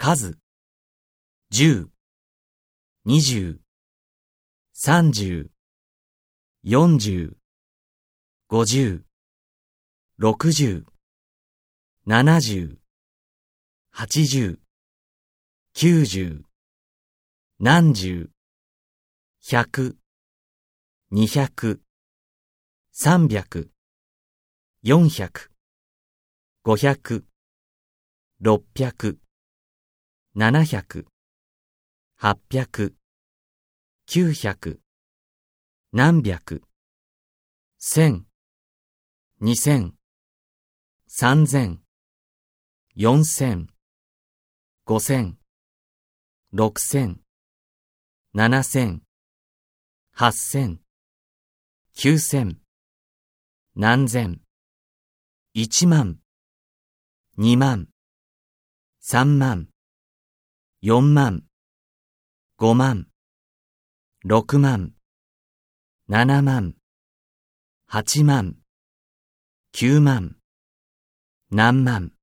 数、10、20、30、40、50、60、70、80、90、何十、100、200、300、400、500、600、700、800、900、何百、1000、2000、3000、4000、5000、6000、7000、8000、9000、何千、1万、2万、3万、4万、5万、6万、7万、8万、9万、何万。